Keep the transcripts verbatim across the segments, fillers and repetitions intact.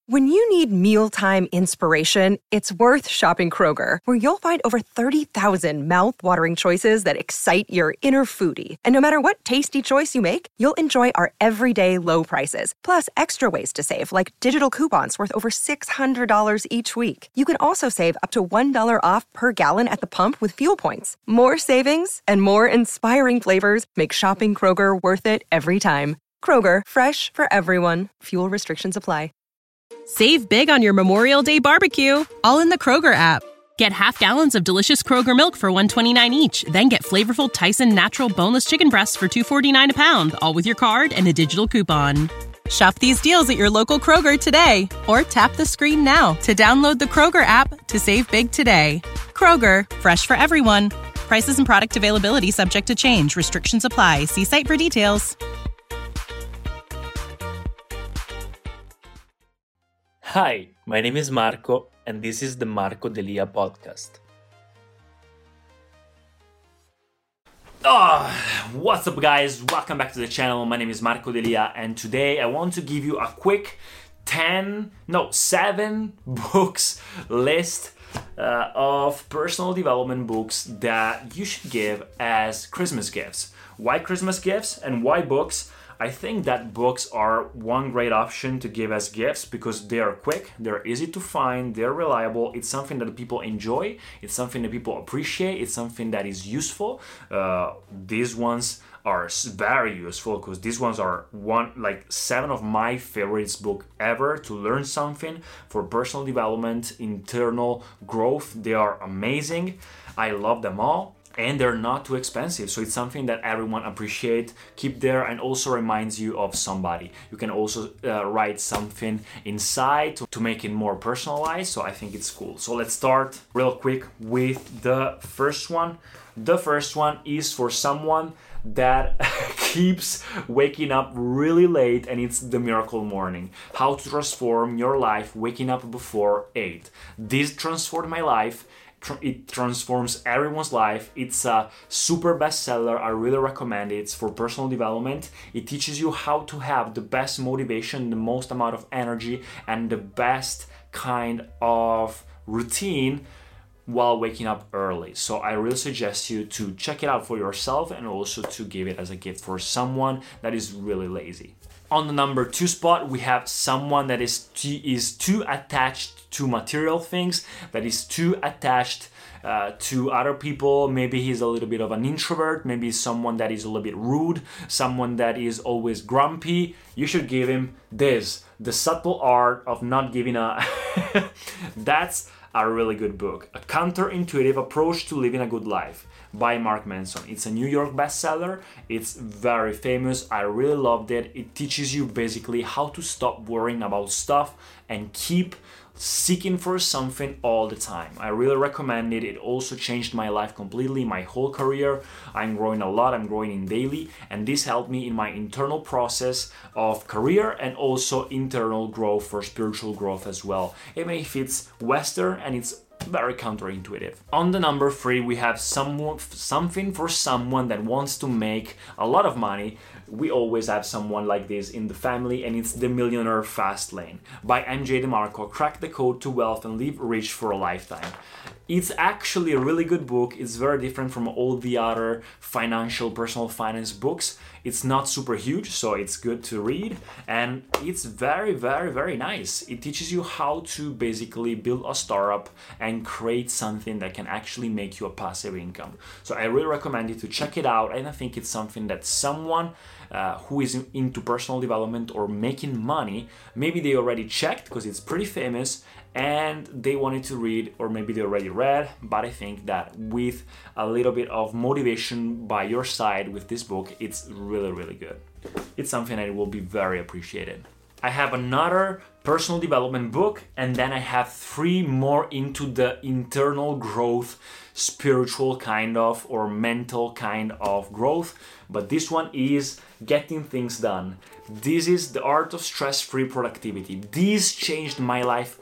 When you need mealtime inspiration, it's worth shopping Kroger, where you'll find over thirty thousand mouth-watering choices that excite your inner foodie. And no matter what tasty choice you make, you'll enjoy our everyday low prices, plus extra ways to save, like digital coupons worth over six hundred dollars each week. You can also save up to one dollar off per gallon at the pump with fuel points. More savings and more inspiring flavors make shopping Kroger worth it every time. Kroger, fresh for everyone. Fuel restrictions apply. Save big on your Memorial Day barbecue, all in the Kroger app. Get half gallons of delicious Kroger milk for one dollar and twenty-nine cents each. Then get flavorful Tyson natural boneless chicken breasts for two dollars and forty-nine cents a pound, all with your card and a digital coupon. Shop these deals at your local Kroger today, or tap the screen now to download the Kroger app to save big today. Kroger, fresh for everyone. Prices and product availability subject to change. Restrictions apply. See site for details. Hi, my name is Marco, and this is the Marco Delia podcast. Oh, what's up guys? Welcome back to the channel. My name is Marco Delia, and today I want to give you a quick ten, no, seven books list uh, of personal development books that you should give as Christmas gifts. Why Christmas gifts and why books? I think that books are one great option to give as gifts because they are quick, they're easy to find, they're reliable, it's something that people enjoy, it's something that people appreciate, it's something that is useful. Uh, these ones are very useful because these ones are one like seven of my favorites book ever to learn something for personal development, internal growth. They are amazing. I love them all. And they're not too expensive, so it's something that everyone appreciate, keep there, and also reminds you of somebody. You can also uh, write something inside to, to make it more personalized, so I think it's cool. So let's start real quick with the first one. The first one is for someone that keeps waking up really late, and it's The Miracle Morning. How to transform your life waking up before eight. This transformed my life. It transforms everyone's life. It's a super bestseller. I really recommend it. It's for personal development. It teaches you how to have the best motivation, the most amount of energy, and the best kind of routine while waking up early. So I really suggest you to check it out for yourself and also to give it as a gift for someone that is really lazy. On the number two spot, we have someone that is too, is too attached to material things, that is too attached uh, to other people. Maybe he's a little bit of an introvert, maybe he's someone that is a little bit rude, someone that is always grumpy. You should give him this, The Subtle Art of Not Giving a... That's a really good book. A counterintuitive approach to living a good life by Mark Manson. It's a New York bestseller. It's very famous. I really loved it. It teaches you basically how to stop worrying about stuff and keep seeking for something all the time. I really recommend it. It also changed my life completely, my whole career. I'm growing a lot. I'm growing in daily, and this helped me in my internal process of career and also internal growth for spiritual growth as well. It may fit Western, and it's very counterintuitive. On the number three, we have someone, something for someone that wants to make a lot of money. We always have someone like this in the family, and it's The Millionaire Fast Lane by M J DeMarco. Crack the code to wealth and live rich for a lifetime. It's actually a really good book. It's very different from all the other financial, personal finance books. It's not super huge, so it's good to read, and it's very, very, very nice. It teaches you how to basically build a startup and create something that can actually make you a passive income. So I really recommend you to check it out, and I think it's something that someone uh, who is into personal development or making money, maybe they already checked because it's pretty famous, and they wanted to read, or maybe they already read, but I think that with a little bit of motivation by your side with this book, it's really, really good. It's something that will be very appreciated. I have another personal development book, and then I have three more into the internal growth, spiritual kind of, or mental kind of growth, but this one is Getting Things Done. This is The Art of Stress-Free Productivity. This changed my life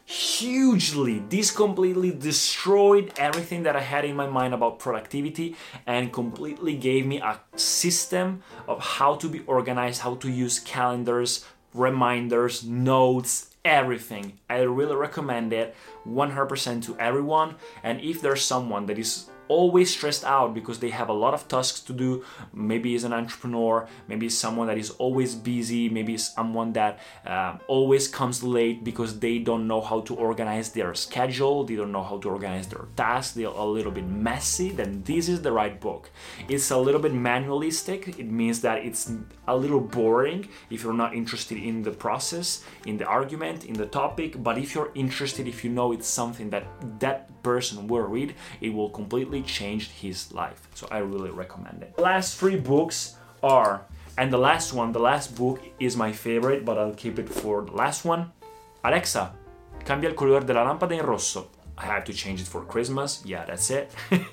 hugely. This completely destroyed everything that I had in my mind about productivity and completely gave me a system of how to be organized, how to use calendars, reminders, notes, everything. I really recommend it one hundred percent to everyone. And if there's someone that is always stressed out because they have a lot of tasks to do, maybe is an entrepreneur, maybe someone that is always busy, maybe someone that uh, always comes late because they don't know how to organize their schedule, they don't know how to organize their tasks, they're a little bit messy, then this is the right book. It's a little bit manualistic. It means that it's a little boring if you're not interested in the process, in the argument, in the topic, but if you're interested, if you know it's something that that person will read, it will completely change his life. So I really recommend it. The last three books are, and the last one, the last book is my favorite, but I'll keep it for the last one. Alexa, cambia il colore della lampada in rosso. I have to change it for Christmas. Yeah, that's it.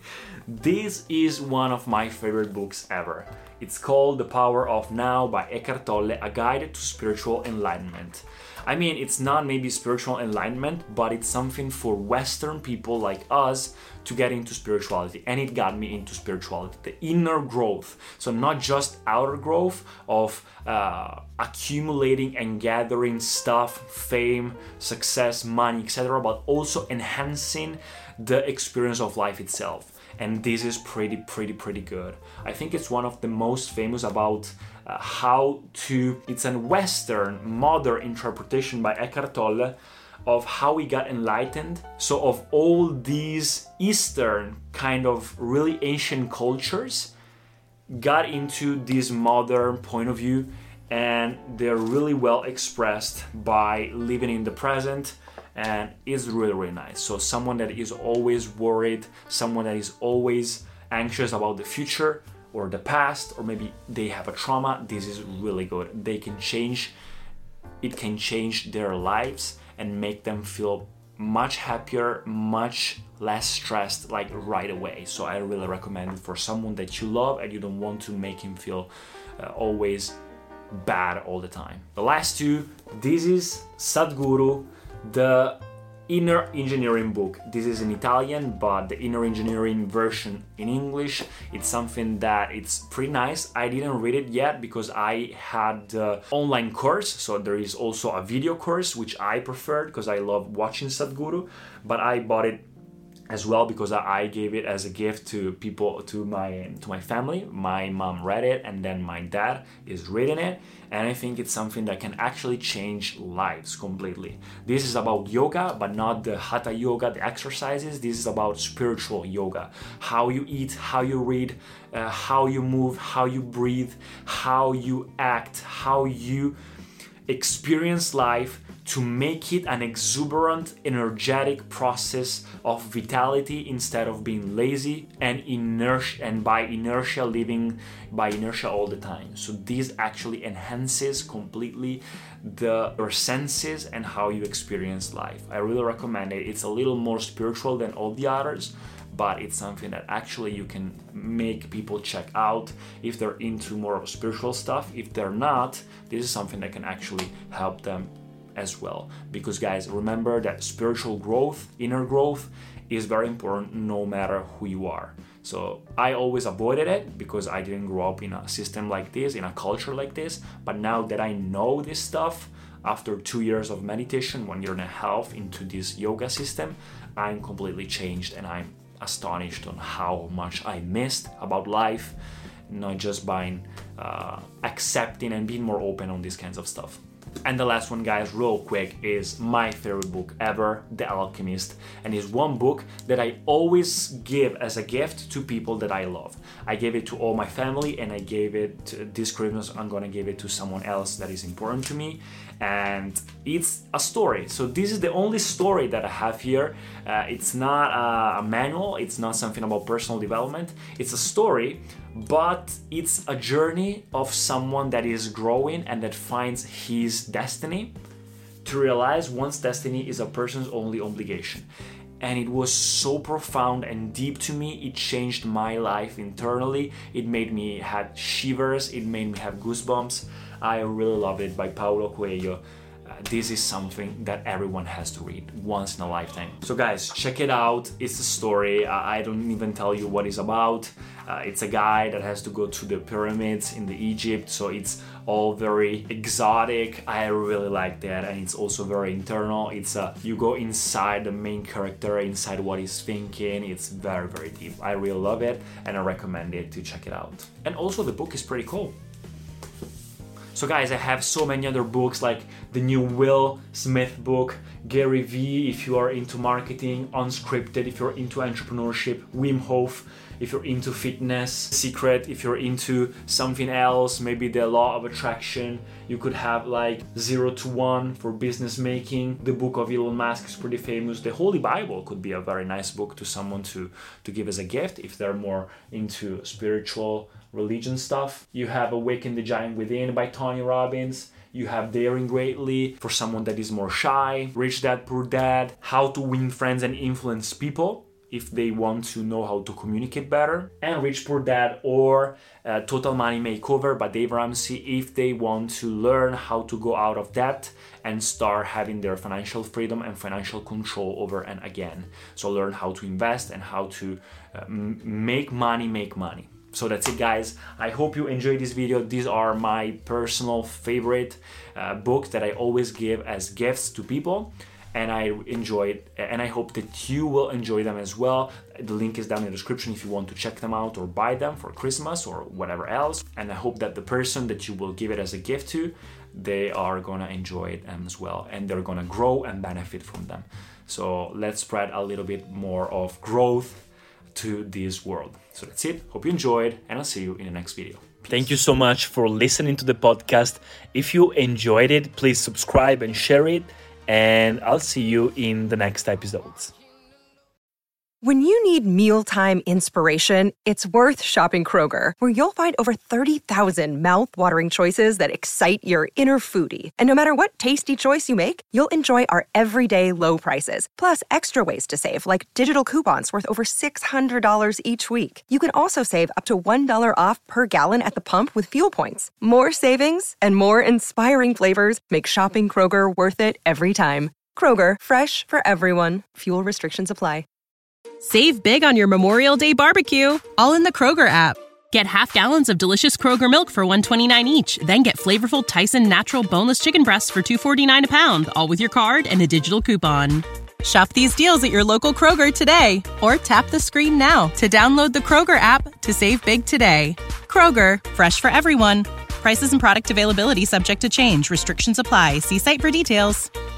This is one of my favorite books ever. It's called The Power of Now by Eckhart Tolle, a guide to spiritual enlightenment. I mean, it's not maybe spiritual enlightenment, but it's something for Western people like us to get into spirituality. And it got me into spirituality, the inner growth. So not just outer growth of uh, accumulating and gathering stuff, fame, success, money, et cetera, but also enhancing the experience of life itself. And this is pretty, pretty, pretty good. I think it's one of the most famous about uh, how to, it's a Western, modern interpretation by Eckhart Tolle of how we got enlightened. So of all these Eastern kind of really ancient cultures got into this modern point of view, and they're really well expressed by living in the present. And it's really, really nice. So someone that is always worried, someone that is always anxious about the future or the past, or maybe they have a trauma, this is really good. They can change, it can change their lives and make them feel much happier, much less stressed, like right away. So I really recommend it for someone that you love and you don't want to make him feel uh, always bad all the time. The last two, this is Sadhguru, the Inner Engineering book. This is in Italian, but the Inner Engineering version in English, it's something that it's pretty nice. I didn't read it yet because I had the online course, so there is also a video course which I preferred because I love watching Sadhguru, but I bought it as well because I gave it as a gift to people, to my to my family. My mom read it and then my dad is reading it, and I think it's something that can actually change lives completely. This is about yoga, but not the hatha yoga, the exercises. This is about spiritual yoga. How you eat, how you read, uh, how you move, how you breathe, how you act, how you experience life, to make it an exuberant, energetic process of vitality instead of being lazy and inertia, and by inertia living by inertia all the time. So this actually enhances completely the your senses and how you experience life. I really recommend it. It's a little more spiritual than all the others, but it's something that actually you can make people check out if they're into more of spiritual stuff. If they're not, this is something that can actually help them as well. Because guys, remember that spiritual growth, inner growth is very important no matter who you are. So I always avoided it because I didn't grow up in a system like this, in a culture like this. But now that I know this stuff, after two years of meditation, one year and a half into this yoga system, I'm completely changed and I'm astonished on how much I missed about life, not just by uh, accepting and being more open on these kinds of stuff. And the last one, guys, real quick, is my favorite book ever, The Alchemist, and is one book that I always give as a gift to people that I love. I gave it to all my family, and I gave it to, this Christmas I'm gonna give it to someone else that is important to me, and it's a story. So this is the only story that I have here. Uh, it's not a, a manual, it's not something about personal development, it's a story, but it's a journey of someone that is growing and that finds his destiny, to realize one's destiny is a person's only obligation. And it was so profound and deep to me. It changed my life internally. It made me have shivers, it made me have goosebumps. I really love it, by Paulo Coelho. Uh, this is something that everyone has to read once in a lifetime. So guys, check it out. It's a story. Uh, I don't even tell you what it's about. Uh, it's a guy that has to go to the pyramids in the Egypt, so it's all very exotic. I really like that, and it's also very internal. It's uh, you go inside the main character, inside what he's thinking. It's very, very deep. I really love it, and I recommend it to check it out. And also the book is pretty cool. So guys, I have so many other books, like the new Will Smith book, Gary Vee if you are into marketing, Unscripted if you're into entrepreneurship, Wim Hof if you're into fitness, Secret if you're into something else, maybe the law of attraction. You could have like Zero to One for business making. The book of Elon Musk is pretty famous. The Holy Bible could be a very nice book to someone to, to give as a gift if they're more into spiritual religion stuff. You have Awaken the Giant Within by Tony Robbins. You have Daring Greatly for someone that is more shy. Rich Dad Poor Dad, How to Win Friends and Influence People if they want to know how to communicate better. And Rich Poor Dad or uh, Total Money Makeover by Dave Ramsey if they want to learn how to go out of debt and start having their financial freedom and financial control over and again. So learn how to invest and how to uh, m- make money make money. So that's it, guys. I hope you enjoyed this video. These are my personal favorite uh, books that I always give as gifts to people, and I enjoy it, and I hope that you will enjoy them as well. The link is down in the description if you want to check them out or buy them for Christmas or whatever else. And I hope that the person that you will give it as a gift to, they are gonna enjoy it as well, and they're gonna grow and benefit from them. So let's spread a little bit more of growth to this world. So that's it. Hope you enjoyed, and I'll see you in the next video. Peace. Thank you so much for listening to the podcast. If you enjoyed it, please subscribe and share it, and I'll see you in the next episodes. When you need mealtime inspiration, it's worth shopping Kroger, where you'll find over thirty thousand mouth-watering choices that excite your inner foodie. And no matter what tasty choice you make, you'll enjoy our everyday low prices, plus extra ways to save, like digital coupons worth over six hundred dollars each week. You can also save up to one dollar off per gallon at the pump with fuel points. More savings and more inspiring flavors make shopping Kroger worth it every time. Kroger, fresh for everyone. Fuel restrictions apply. Save big on your Memorial Day barbecue, all in the Kroger app. Get half gallons of delicious Kroger milk for one dollar and twenty-nine cents each. Then get flavorful Tyson natural boneless chicken breasts for two dollars and forty-nine cents a pound, all with your card and a digital coupon. Shop these deals at your local Kroger today, or tap the screen now to download the Kroger app to save big today. Kroger, fresh for everyone. Prices and product availability subject to change. Restrictions apply. See site for details.